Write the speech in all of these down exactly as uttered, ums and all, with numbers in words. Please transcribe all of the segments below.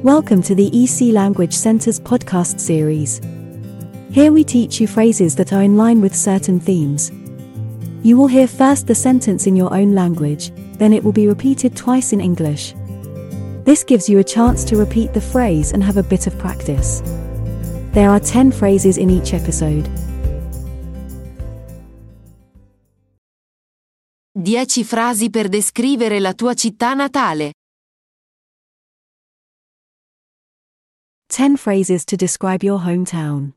Welcome to the E C Language Center's podcast series. Here we teach you phrases that are in line with certain themes. You will hear first the sentence in your own language, then it will be repeated twice in English. This gives you a chance to repeat the phrase and have a bit of practice. There are ten phrases in each episode. dieci frasi per descrivere la tua città natale. ten phrases to describe your hometown.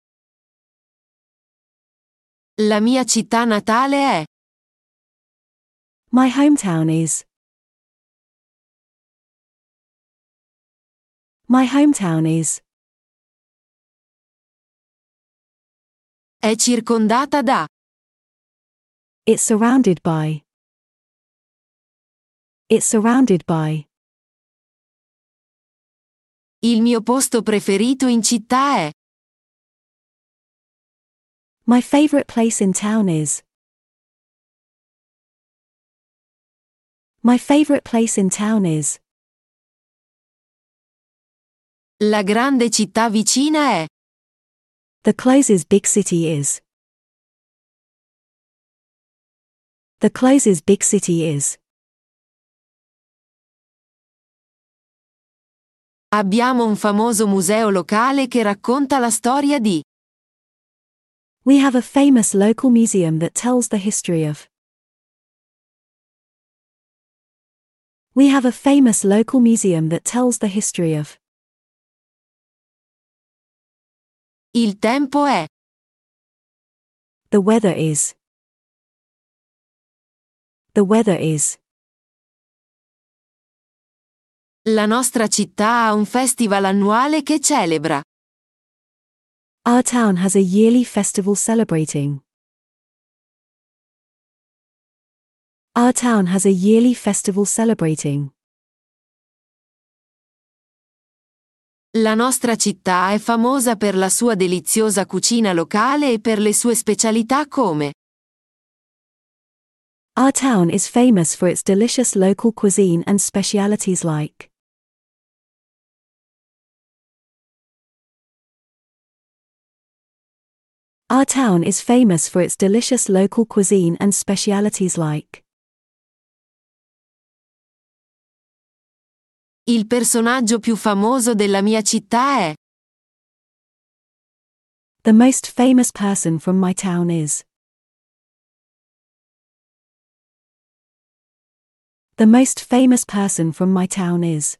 La mia città natale è. My hometown is. My hometown is. È circondata da. It's surrounded by. It's surrounded by. Il mio posto preferito in città è. My favorite place in town is. My favorite place in town is. La grande città vicina è. The closest big city is. The closest big city is. Abbiamo un famoso museo locale che racconta la storia di. We have a famous local museum that tells the history of. We have a famous local museum that tells the history of. Il tempo è. The weather is. The weather is. La nostra città ha un festival annuale che celebra. Our town has a yearly festival celebrating. Our town has a yearly festival celebrating. La nostra città è famosa per la sua deliziosa cucina locale e per le sue specialità come. Our town is famous for its delicious local cuisine and specialities like. Our town is famous for its delicious local cuisine and specialities like. Il personaggio più famoso della mia città è. The most famous person from my town is. The most famous person from my town is.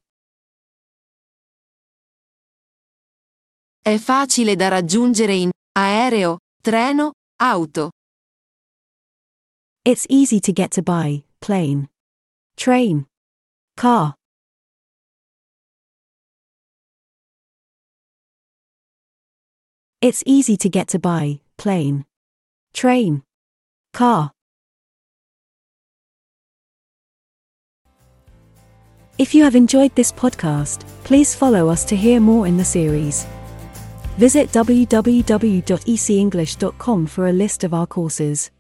È facile da raggiungere in aereo, treno, auto. It's easy to get to by plane, train, car. It's easy to get to by plane, train, car. If you have enjoyed this podcast, please follow us to hear more in the series. Visit w w w dot e c english dot com for a list of our courses.